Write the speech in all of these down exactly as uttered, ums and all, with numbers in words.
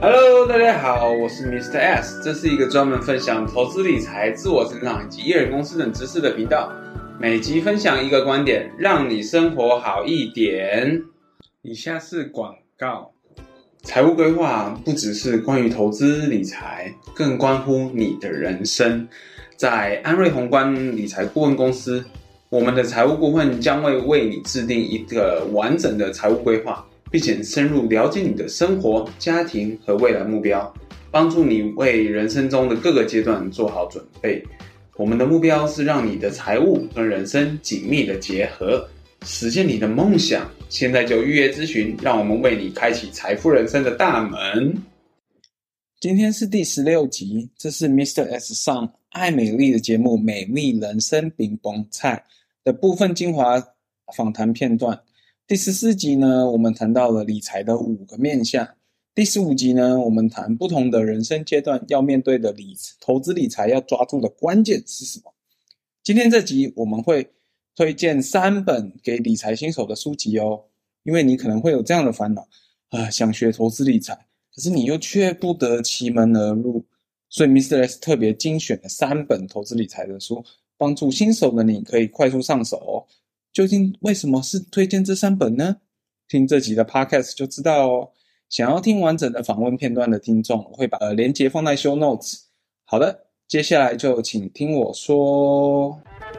Hello， 大家好，我是 Mister S， 這是一個專門分享投資理財、自我成長以及一人公司等知識的頻道。每集分享一個觀點，讓你生活好一點。以下是廣告。財務規劃不只是關於投資理財，更關乎你的人生。在安瑞宏觀理財顧問公司，我們的財務顧問將會為你制定一個完整的財務規劃，並且深入了解你的生活、家庭和未來目標，幫助你為人生中的各個階段做好準備。我們的目標是讓你的財務和人生緊密的結合，實現你的夢想。現在就預約諮詢，讓我們為你開啟財富人生的大門。 今天是第十六集，這是 Mister S 上愛美麗的節目《美麗人生餅崩菜》的部分精華訪談片段。第十四集呢，我們談到了理財的五個面向。第十五集呢，我們談不同的人生階段要面對的理投資理財要抓住的關鍵是什麼。今天這集我們會推薦三本給理財新手的書籍哦，因為你可能會有這樣的煩惱啊，想學投資理財，可是你又卻不得其門而入，所以 Mister S 特別精選了三本投資理財的書，幫助新手的你可以快速上手哦。究竟為什麼是推薦這三本呢？聽這集的 Podcast 就知道哦。想要聽完整的訪問片段的聽眾，我會把呃連結放在 Show Notes。好的，接下來就請聽我說。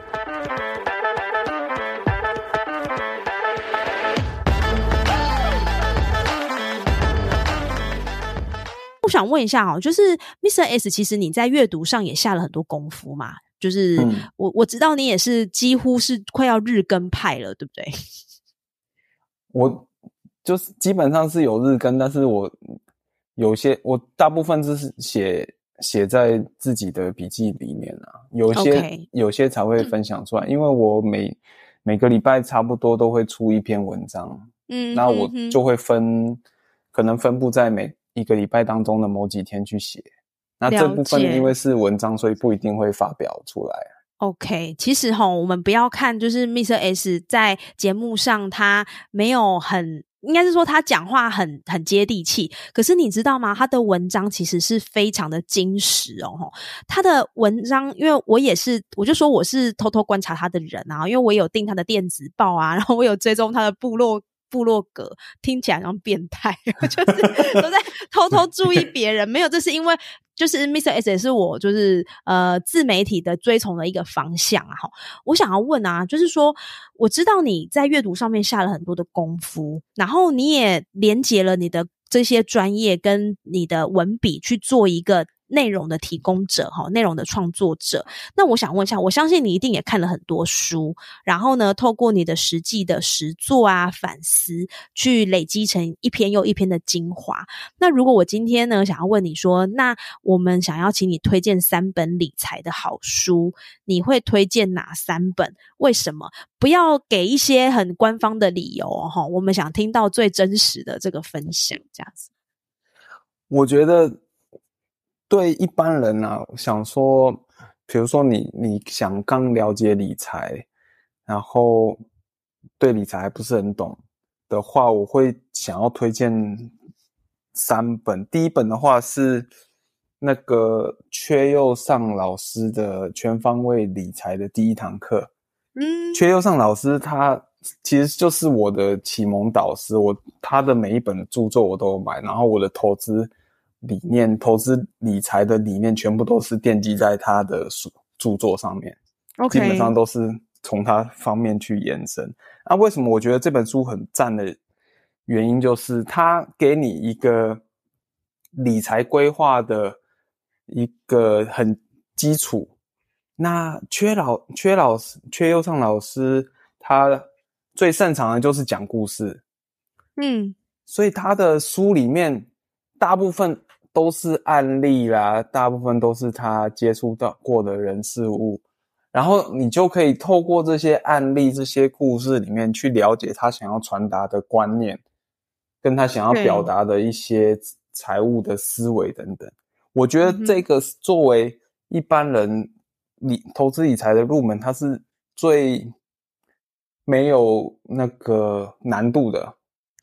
我想問一下哦，就是 Mister S， 其實你在閱讀上也下了很多功夫嘛？就是我、嗯、我知道你也是幾乎是快要日更派了，對不對？ 我就是基本上是有日更，但是我有些我大部分就是寫寫在自己的筆記裡面啊，有些、okay. 有些才會分享出來，嗯、因為我每每個禮拜差不多都會出一篇文章，嗯，那我就會分、嗯、可能分布在每一個禮拜當中的某幾天去寫。那這部分因為是文章，所以不一定會發表出來。 OK， 其實齁，我們不要看就是 Mister S 在節目上他沒有很，應該是說他講話很很接地氣，可是你知道嗎？他的文章其實是非常的精實哦。他的文章，因為我也是，我就說我是偷偷觀察他的人啊，因為我有訂他的電子報啊，然後我有追蹤他的部落。部落格聽起來像變態，就是都在偷偷注意別人。沒有，這是因為就是 Mister S 也是我就是呃自媒體的追從的一個方向啊。我想要問啊，就是說我知道你在閱讀上面下了很多的功夫，然後你也連結了你的這些專業跟你的文筆去做一個內容的提供者，內容的創作者。那我想問一下，我相信你一定也看了很多書，然後呢，透過你的實際的實作啊、反思，去累積成一篇又一篇的精華。那如果我今天呢，想要問你說，那我們想要請你推薦三本理財的好書，你會推薦哪三本？為什麼？不要給一些很官方的理由哦，我們想聽到最真實的這個分享，這樣子。 我覺得對一般人啊，想說，比如說你你想剛了解理財，然後對理財還不是很懂的話，我會想要推薦三本。第一本的話是那個闕又上老師的《全方位理財的第一堂課》。嗯，闕又上老師他其實就是我的啟蒙導師，我他的每一本的著作我都有買，然後我的投資理念、投資理財的理念全部都是奠基在他的書著作上面。Okay. 基本上都是從他方面去延伸。那為什麼我覺得這本書很讚的原因，就是他給你一個理財規劃的一個很基礎。那闕老闕老師闕又上老師他最擅長的就是講故事。嗯，所以他的書裡面大部分都是案例啦，大部分都是他接觸到過的人事物，然後你就可以透過這些案例、這些故事裡面去了解他想要傳達的觀念，跟他想要表達的一些財務的思維等等。我覺得這個作為一般人理投資理財的入門，它是最沒有那個難度的。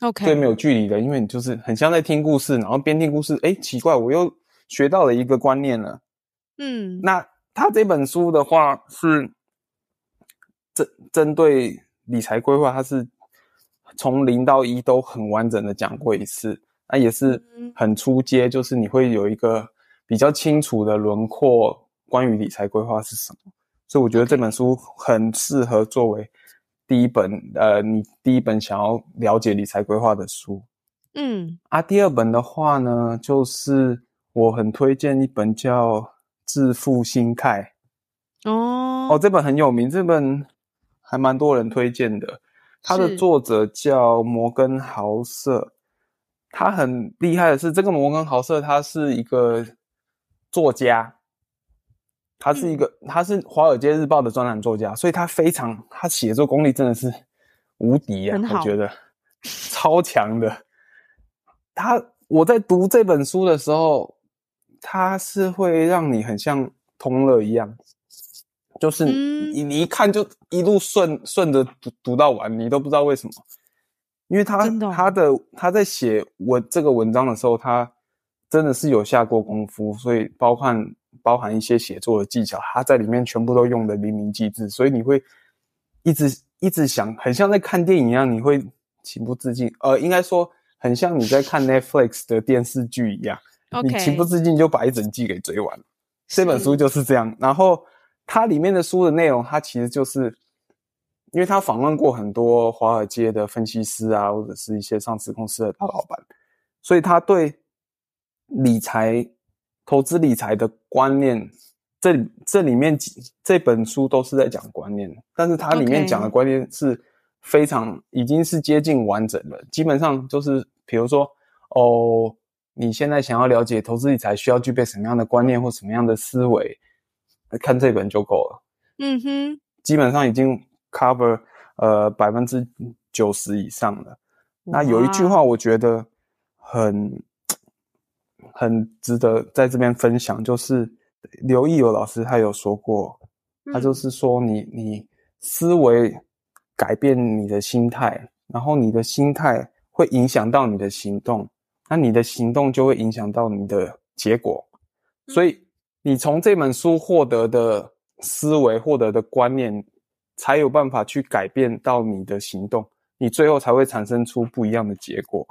OK， 最沒有距離的，因為你就是很像在聽故事，然後邊聽故事，誒，奇怪，我又學到了一個觀念了。 嗯， 那他這本書的話是針針對理財規劃，它是從零到一都很完整的講過一次，那也是很初階，就是你會有一個比較清楚的輪廓，關於理財規劃是什麼。所以我覺得這本書很適合作為第一本，呃，你第一本想要了解理財規劃的書。 嗯， 啊，第二本的話呢，就是我很推薦一本叫《致富心態》。 哦， 哦，這本很有名，這本還蠻多人推薦的。它的作者叫摩根豪瑟，他很厲害的是，這個摩根豪瑟他是一個作家，他是一個、嗯、他是華爾街日報的專欄作家，所以他非常他寫作功力真的是無敵啊，我覺得超強的。他我在讀這本書的時候，他是會讓你很像通樂一樣。就是你你一看就一路順順着讀讀到完，你都不知道為什麼，因為他的他的他在寫文這個文章的時候，他真的是有下過功夫，所以包含包含一些寫作的技巧，他在裡面全部都用得淋漓盡致，所以你會一直一直想，很像在看電影一樣，你會情不自禁，呃，應該說很像你在看 Netflix 的電視劇一樣， okay. 你情不自禁就把一整季給追完了。這本書就是這樣，然後。它裡面的書的內容，它其實就是，因為他訪問過很多華爾街的分析師啊，或者是一些上市公司的大老闆，所以他對理財、投資理財的觀念，這這裡面幾這本書都是在講觀念，但是它裡面講的觀念是非常、okay. 已經是接近完整了，基本上就是比如說哦，你現在想要了解投資理財需要具備什麼樣的觀念或什麼樣的思維。看這本就夠了， 嗯哼， 基本上已經 cover 呃百分之九十以上了。那有一句話我覺得很很值得在這邊分享，就是劉奕友老師他有說過，他就是說你你思維改變你的心態，然後你的心態會影響到你的行動，那你的行動就會影響到你的結果，所以。你從這本書獲得的思維、獲得的觀念，才有辦法去改變到你的行動，你最後才會產生出不一樣的結果。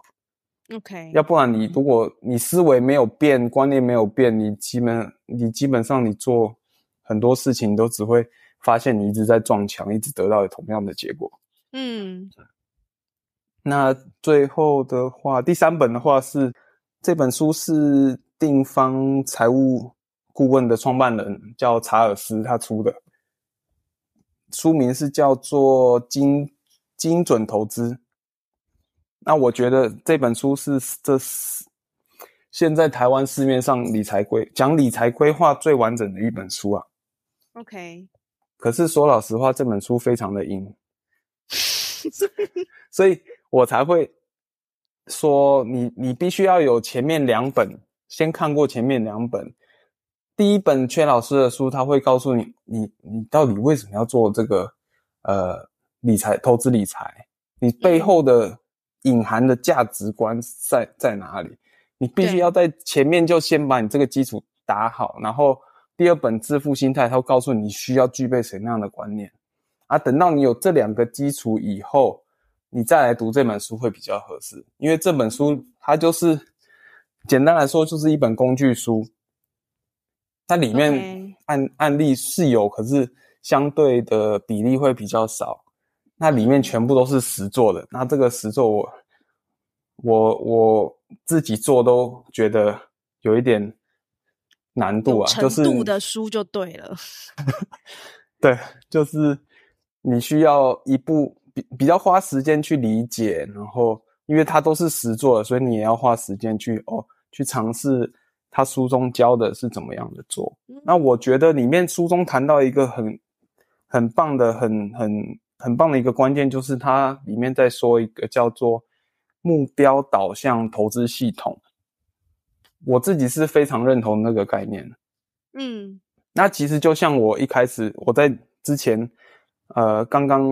OK， 要不然你如果你思維沒有變，觀念沒有變，你基本你基本上你做很多事情都只會發現你一直在撞牆，一直得到同樣的結果。 嗯， 那最後的話，第三本的話是這本書是定方財務顧問的創辦人叫查爾斯，他出的書名是叫做精精準投資。那我覺得這本書是這是現在台灣市面上理財規講理財規劃最完整的一本書啊。 OK， 可是說老實話，這本書非常的硬，所以我才會說你你必須要有前面兩本，先看過前面兩本。第一本闕老師的書，他會告訴你，你你到底為什麼要做這個呃理財投資理財，你背後的隱含的價值觀在在哪裡？你必須要在前面就先把你這個基礎打好，然後第二本致富心態，他會告訴你需要具備什麼樣的觀念啊。等到你有這兩個基礎以後，你再來讀這本書會比較合適，因為這本書它就是簡單來說就是一本工具書。它裡面案、okay. 案例是有，可是相對的比例會比較少。那裡面全部都是實作的。那這個實作我我我自己做都覺得有一點難度啊，就是程度的書就對了。 對，就是你需要一步比比較花時間去理解，然後因為它都是實作的，所以你也要花時間去哦去嘗試。他書中教的是怎麼樣的做？那我覺得裡面書中談到一個很很棒的、很很很棒的一個關鍵，就是它裡面在說一個叫做目標導向投資系統。我自己是非常認同那個概念。嗯，那其實就像我一開始我在之前呃剛剛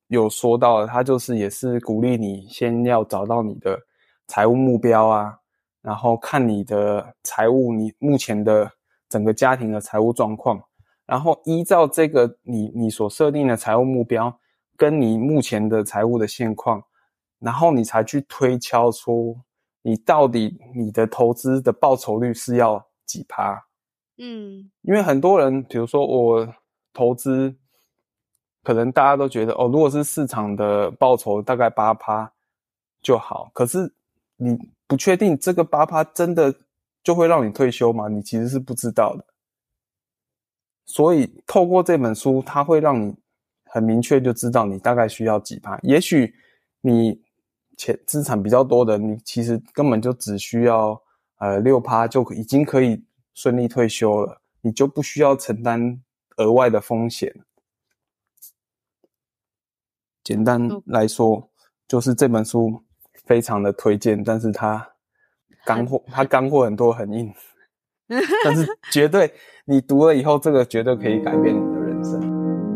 有說到的，他就是也是鼓勵你先要找到你的財務目標啊，然後看你的財務，你目前的整個家庭的財務狀況，然後依照這個你你所設定的財務目標跟你目前的財務的現況，然後你才去推敲出你到底你的投資的報酬率是要幾趴。嗯，因為很多人比如說我投資可能大家都覺得哦，如果是市場的報酬大概 百分之八 就好，可是你不確定這個 百分之八 真的就會讓你退休嗎？你其實是不知道的。所以透過這本書，它會讓你很明確就知道你大概需要幾趴。也許你錢資產比較多的，你其實根本就只需要呃 百分之六 就已經可以順利退休了，你就不需要承擔額外的風險。簡單來說，就是這本書非常的推薦，但是它乾貨，它乾貨很多很硬，但是絕對你讀了以後，這個絕對可以改變你的人生。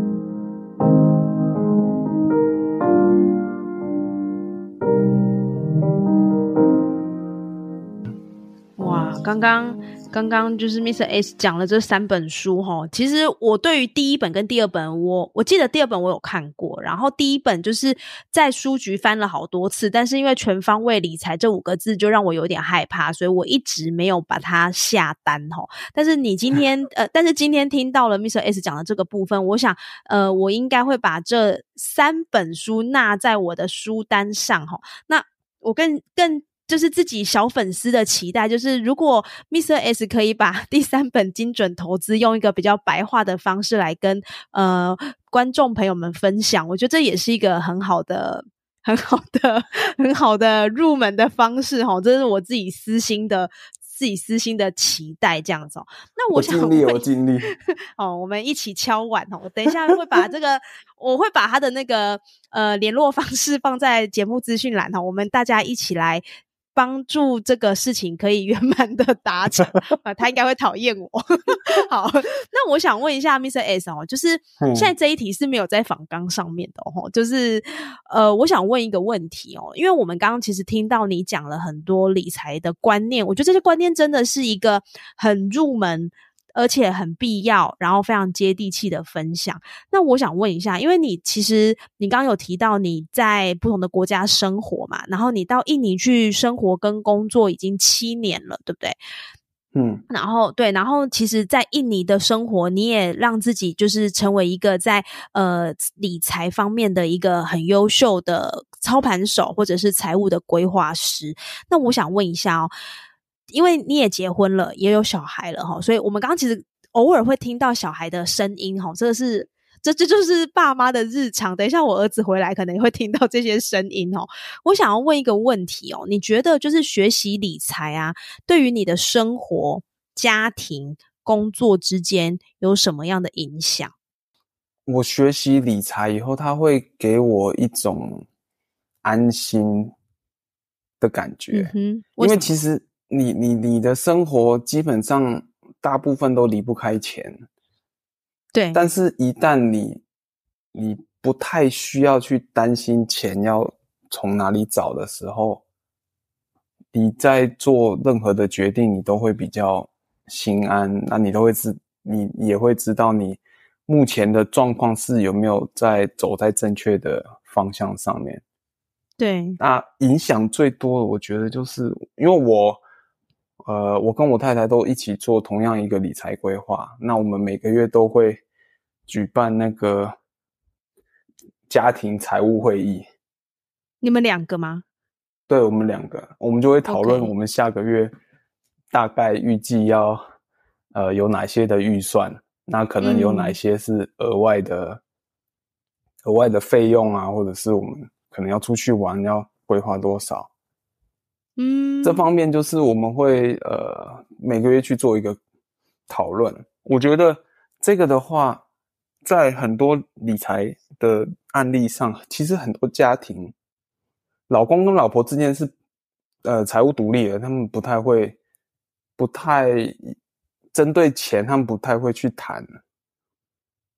哇，剛剛剛剛就是 Mister S 講了這三本書齁，其實我對於第一本跟第二本，我我記得第二本我有看過，然後第一本就是在書局翻了好多次，但是因為全方位理財這五個字就讓我有點害怕，所以我一直沒有把它下單齁。但是你今天呃，但是今天聽到了 Mister S 講的這個部分，我想呃，我應該會把這三本書納在我的書單上齁。那我更更就是自己小粉絲的期待，就是如果 Mister S 可以把第三本精準投資用一個比較白話的方式來跟呃觀眾朋友們分享，我覺得這也是一個很好的很好的很好的入門的方式齁，這是我自己私心的自己私心的期待這樣子哦。那我想我盡力我盡力哦，我們一起敲碗哦。我等一下會把這個我會把他的那個呃聯絡方式放在節目資訊欄哦，我們大家一起來幫助這個事情可以圓滿的達成啊，他應該會討厭我。好，那我想問一下 Mister S 哦，就是現在這一題是沒有在訪綱上面的哦，就是呃，我想問一個問題哦，因為我們剛剛其實聽到你講了很多理財的觀念，我覺得這些觀念真的是一個很入門，而且很必要，然後非常接地氣的分享。那我想問一下，因為你其實你剛剛有提到你在不同的國家生活嘛，然後你到印尼去生活跟工作已經七年了，對不对？嗯，然後對，然後其實在印尼的生活，你也讓自己就是成為一個在呃理財方面的一個很優秀的操盤手，或者是財務的規劃師。那我想問一下哦，因為你也結婚了，也有小孩了齁，所以我們剛剛其實偶爾會聽到小孩的聲音齁，這個是這這就是爸媽的日常。等一下我兒子回來可能也會聽到這些聲音齁。我想要問一個問題哦，你覺得就是學習理財啊，對於你的生活、家庭、工作之間有什麼樣的影響？ 我學習理財以後，它會給我一種安心的感覺。嗯哼，為因為其實你你你的生活基本上大部分都離不開錢，對。但是一旦你你不太需要去擔心錢要從哪裡找的時候，你在做任何的決定，你都會比較心安。那你都會知，你也會知道你目前的狀況是有沒有在走在正確的方向上面。對，那影響最多的，我覺得就是因為我，呃，我跟我太太都一起做同樣一個理財規劃。那我們每個月都會舉辦那個家庭財務會議。 你們兩個嗎？ 對，我們兩個，我們就會討論我們下個月大概預計要呃有哪些的預算，那可能有哪些是額外的、嗯、額外的費用啊，或者是我們可能要出去玩，要規劃多少？嗯，這方面就是我們會呃每個月去做一個討論。我覺得這個的話，在很多理財的案例上，其實很多家庭，老公跟老婆之間是呃財務獨立的，他們不太會，不太針對錢，他們不太會去談。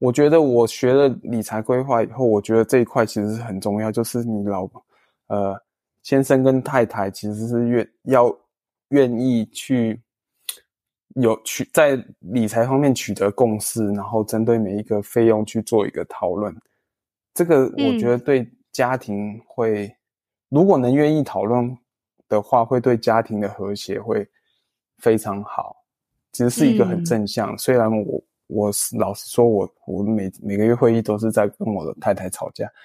我覺得我學了理財規劃以後，我覺得這一塊其實是很重要，就是你老呃先生跟太太其實是願要願意去有取在理財方面取得共識，然後針對每一個費用去做一個討論。這個我覺得對家庭會，嗯、如果能願意討論的話，會對家庭的和諧會非常好。其實是一個很正向，嗯、雖然我。我老實說我，我我每每個月會議都是在跟我的太太吵架。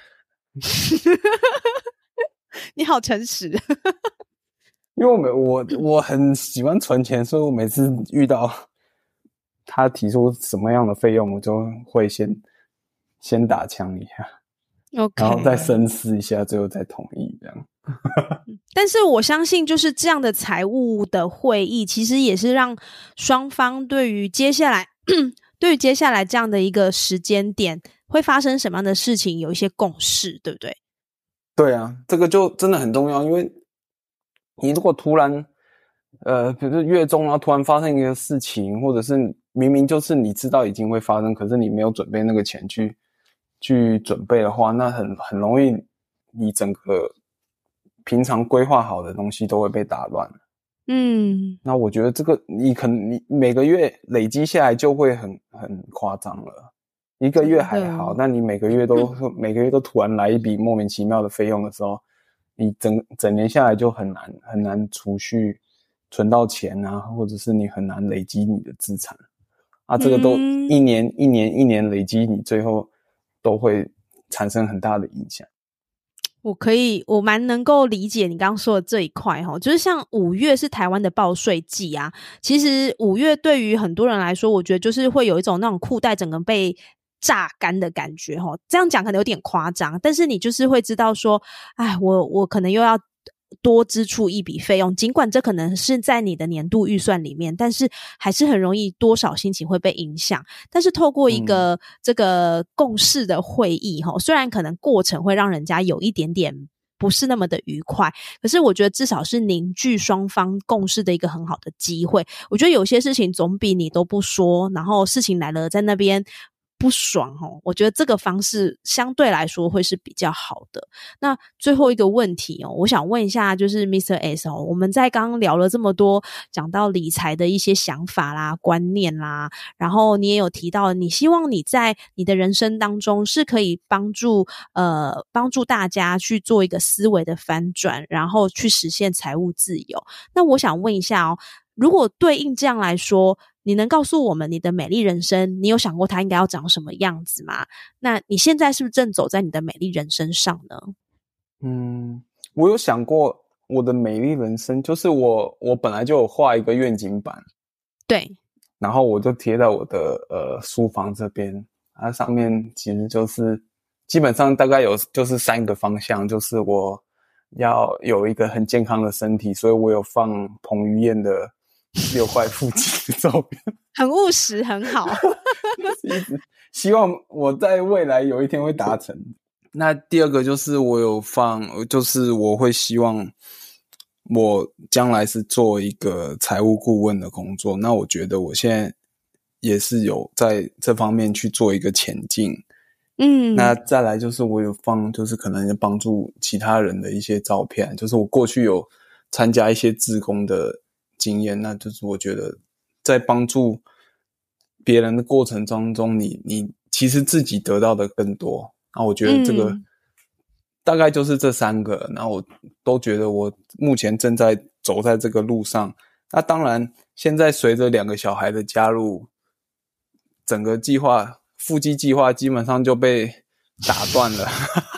你好誠實。 因為我每我我很喜歡存錢，所以我每次遇到他提出什麼樣的費用，我就會先先打槍一下，okay. 然後再深思一下，最後再同意這樣。 但是我相信，就是這樣的財務的會議，其實也是讓雙方對於接下來。對於接下來這樣的一個時間點會發生什麼樣的事情有一些共識，對不對？ 對啊，這個就真的很重要，因為你如果突然呃比如說月中然後突然發生一個事情，或者是明明就是你知道已經會發生，可是你沒有準備那個錢去去準備的話，那很很容易你整個平常規劃好的東西都會被打亂。嗯，那我覺得這個你可能你每個月累積下來就會很很誇張了，一個月還好，那你每個月都、嗯、每個月都突然來一筆莫名其妙的費用的時候，你整整年下來就很難很難儲蓄存到錢啊，或者是你很難累積你的資產啊，這個都一年、嗯、一年一年累積，你最後都會產生很大的影響。 我可以，我蠻能夠理解你剛剛說的這一塊齁，就是像五月是台灣的報稅季啊，其實五月對於很多人來說，我覺得就是會有一種那種褲帶整個被榨乾的感覺齁，這樣講可能有點誇張，但是你就是會知道說，哎，我我可能又要多支出一筆費用，盡管這可能是在你的年度預算裡面，但是還是很容易多少心情會被影響。但是透過一個、嗯、這個共識的會議齁，雖然可能過程會讓人家有一點點不是那麼的愉快，可是我覺得至少是凝聚雙方共識的一個很好的機會。我覺得有些事情總比你都不說，然後事情來了在那邊不爽齁，我覺得這個方式相對來說會是比較好的。那最後一個問題哦，我想問一下，就是 Mister S 哦，我們在剛剛聊了這麼多，講到理財的一些想法啦、觀念啦，然後你也有提到，你希望你在你的人生當中是可以幫助呃幫助大家去做一個思維的翻轉，然後去實現財務自由。那我想問一下哦，如果對應這樣來說，你能告訴我們你的美麗人生，你有想過它應該要長什麼樣子嗎？那你現在是不是正走在你的美麗人生上呢？嗯， 我有想過我的美麗人生，就是我我本來就有畫一個願景板， 對， 然後我就貼在我的呃書房這邊，它上面其實就是基本上大概有就是三個方向，就是我要有一個很健康的身體，所以我有放彭于晏的六塊腹肌的照片， 很務實，很好。 希望我在未來有一天會達成。那第二個就是我有放，就是我會希望我將來是做一個財務顧問的工作。那我覺得我現在也是有在這方面去做一個前進。嗯，那再來就是我有放，就是可能幫助其他人的一些照片，就是我過去有參加一些志工的經驗，那就是我覺得在幫助別人的過程當中，你你其實自己得到的更多。那我覺得這個、嗯、大概就是這三個，那我都覺得我目前正在走在這個路上。那當然，現在隨着兩個小孩的加入，整個計劃腹肌計劃基本上就被打斷了，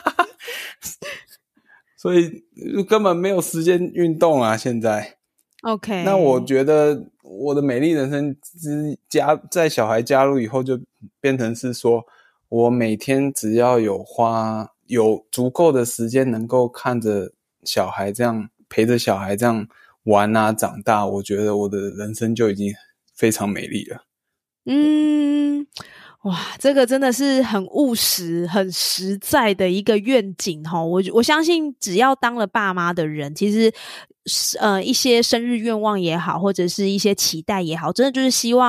所以根本沒有時間運動啊！現在。OK， 那我覺得我的美麗人生之加在小孩加入以後，就變成是說，我每天只要有花有足夠的時間，能夠看着小孩這樣陪着小孩這樣玩啊長大，我覺得我的人生就已經非常美麗了。嗯。 哇，這個真的是很務實、很實在的一個願景齁。我我相信，只要當了爸媽的人，其實呃一些生日願望也好，或者是一些期待也好，真的就是希望自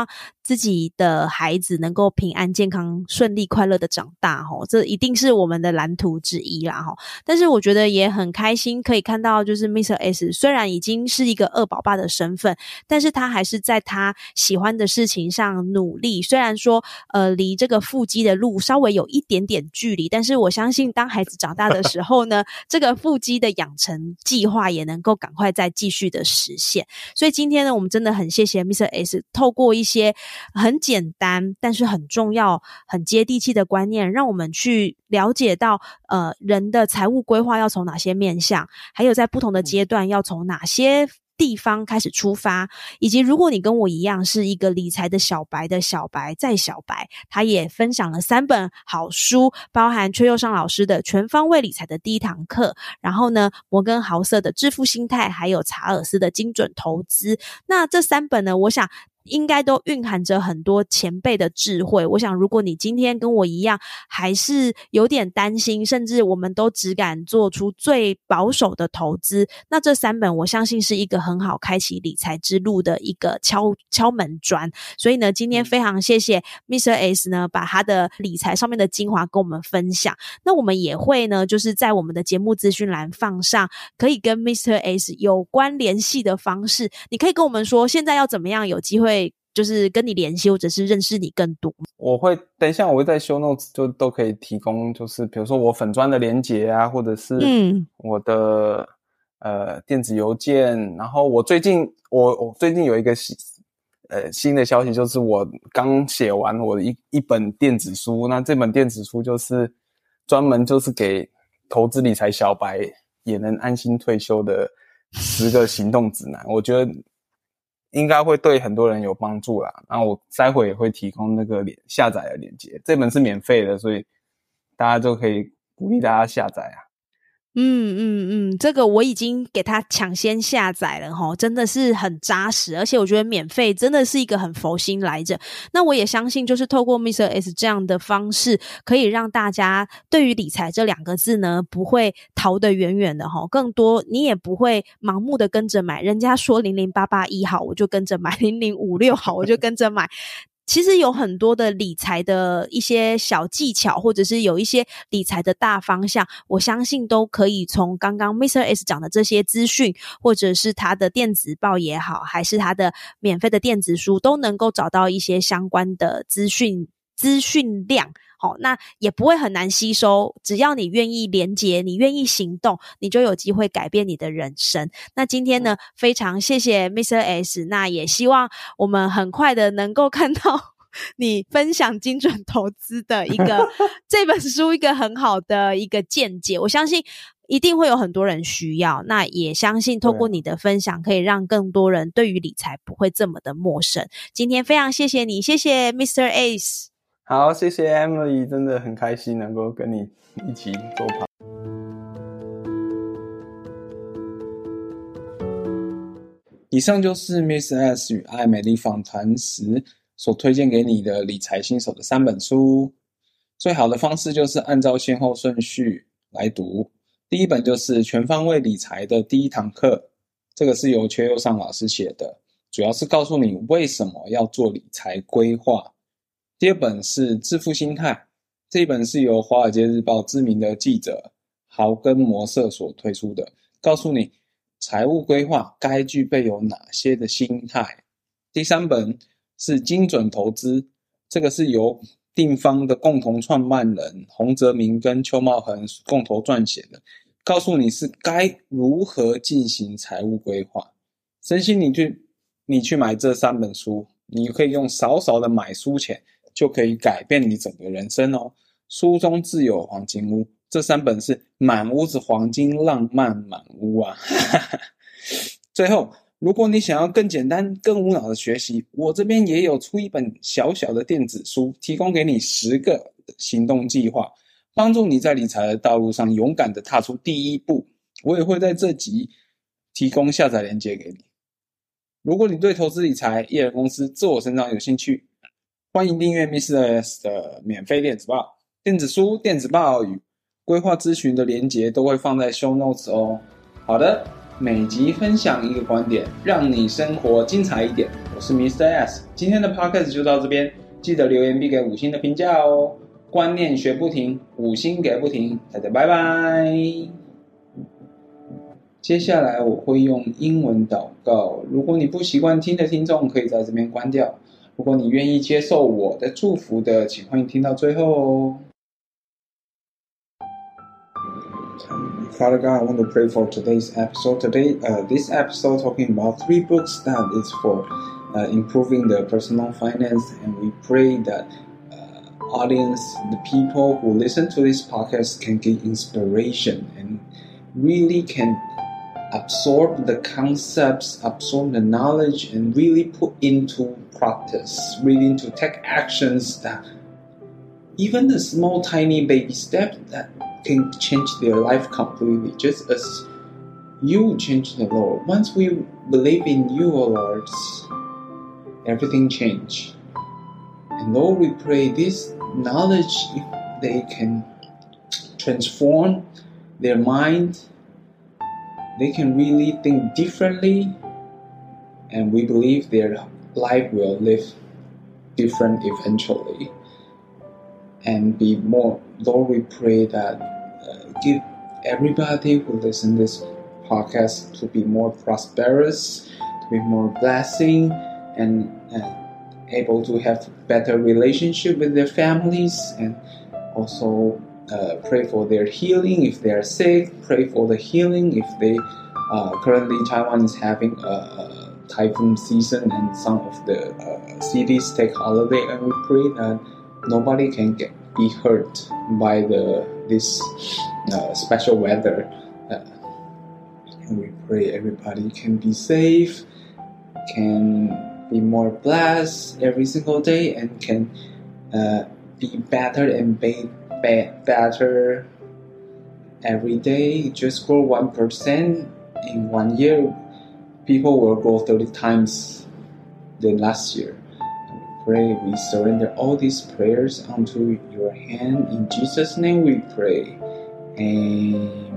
自己的孩子能夠平安健康順利快樂的長大齁，這一定是我們的藍圖之一啦齁。但是我覺得也很開心可以看到，就是 Mister S 雖然已經是一個二寶爸的身份，但是他還是在他喜歡的事情上努力。雖然說呃離這個腹肌的路稍微有一點點距離，但是我相信當孩子長大的時候呢，這個腹肌的養成計劃也能夠趕快再繼續的實現。所以今天呢，我們真的很謝謝 Mister S 透過一些很簡單但是很重要很接地氣的觀念，讓我們去了解到呃人的財務規劃要從哪些面向，還有在不同的階段要從哪些地方開始出發，以及如果你跟我一樣是一個理財的小白的小白再小白，他也分享了三本好書，包含闕又上老師的全方位理財的第一堂課，然後呢摩根豪瑟的致富心態，還有查爾斯的精準投資。那這三本呢，我想應該都蘊含着很多前輩的智慧。我想如果你今天跟我一樣還是有點擔心，甚至我們都只敢做出最保守的投資，那這三本我相信是一個很好開啟理財之路的一個敲敲門磚。所以呢，今天非常謝謝 Mister S 呢把他的理財上面的精華跟我們分享。那我們也會呢就是在我們的節目資訊欄放上可以跟 Mister S 有關聯繫的方式，你可以跟我們說現在要怎麼樣有機會就是跟你聯繫，或者是認識你更多。 我會等一下我會在 show notes 就都可以提供，就是比如說我粉專的連結啊，或者是我的、嗯、呃電子郵件。然後我最近我我最近有一個呃新的消息，就是我剛寫完我的一一本電子書。那這本電子書就是專門就是給投資理財小白也能安心退休的十個行動指南。我覺得應該會對很多人有幫助啦，然後我待會也會提供那個下載的鏈接，這本是免費的，所以大家就可以鼓勵大家下載啊。 嗯嗯嗯，這個我已經給他搶先下載了齁，真的是很扎實，而且我覺得免費真的是一個很佛心來着。那我也相信就是透過 Mister S 這樣的方式，可以讓大家對於理財這兩個字呢不會逃得遠遠的齁，更多你也不會盲目的跟着買，人家說零零八八一好我就跟着買，零零五六好我就跟着買。其實有很多的理財的一些小技巧，或者是有一些理財的大方向，我相信都可以從剛剛 Mister S 講的這些資訊，或者是他的電子報也好，還是他的免費的電子書，都能夠找到一些相關的資訊資訊量。好，那也不會很難吸收，只要你願意連結，你願意行動，你就有機會改變你的人生。那今天呢，非常謝謝 Mister S， 那也希望我們很快的能夠看到你分享精準投資的一個這本書一個很好的一個見解，我相信一定會有很多人需要，那也相信透過你的分享可以讓更多人對於理財不會這麼的陌生。今天非常謝謝你，謝謝 Mister S。 好，謝謝 Emily， 真的很開心能夠跟你一起做 podcast。 以上就是 Mister S 與愛美麗訪談時所推薦給你的理財新手的三本書。最好的方式就是按照先後順序來讀。第一本就是全方位理財的第一堂課，這個是由闕又上老師寫的，主要是告訴你為什麼要做理財規劃。第二本是致富心態，這一本是由華爾街日報知名的記者豪根摩瑟所推出的，告訴你財務規劃該具備有哪些的心態。第三本是精準投資，這個是由定方的共同創辦人洪澤明跟邱茂恆共同撰寫的，告訴你是該如何進行財務規劃。真心你去你去買這三本書，你可以用少少的買書錢就可以改變你整個人生哦。書中自有黃金屋，這三本是滿屋子黃金，浪漫滿屋啊。最後，如果你想要更簡單更無腦的學習，我這邊也有出一本小小的電子書，提供給你十個行動計劃，幫助你在理財的道路上勇敢的踏出第一步。我也會在這集提供下載鏈接給你。如果你對投資理財、一人公司、自我成長有興趣，歡迎訂閱 Mister S 的免費電子報、電子書、電子報與規劃諮詢的連結都會放在 show notes 哦。好的， 每集分享一個觀點，讓你生活精彩一點。我是 Mister S， 今天的 Podcast 就到這邊，記得留言並給五星的評價哦。觀念學不停，五星給不停，大家拜拜。接下來我會用英文禱告，如果你不習慣聽的聽眾，可以在這邊關掉。如果你願意接受我的祝福的，請歡迎聽到最後哦。Father God, I want to pray for today's episode. Today, uh, this episode talking about three books that is for uh, improving the personal finance, and we pray that uh, audience, the people who listen to this podcast, can get inspiration and really can absorb the concepts, absorb the knowledge, and really put into practice, really to take actions that even the small, tiny baby step that can change their life completely, just as you change the Lord. Once we believe in you, O Lord, everything change. And Lord, we pray this knowledge, if they can transform their mind, they can really think differently, and we believe their life will live different eventually and be more. Lord, we pray that uh, give everybody who listen to this podcast to be more prosperous, to be more blessing, and uh, able to have better relationship with their families, and also uh, pray for their healing if they are sick. Pray for the healing if they uh, currently Taiwan is having a, a typhoon season and some of the uh, cities take holiday, and we pray that nobody can get be hurt by the this uh, special weather, uh, and we pray everybody can be safe, can be more blessed every single day, and can uh, be better and be, be better every day. Just grow one percent in one year, people will grow thirty times than last year. Pray, we surrender all these prayers unto your hand. In Jesus' name we pray. Amen.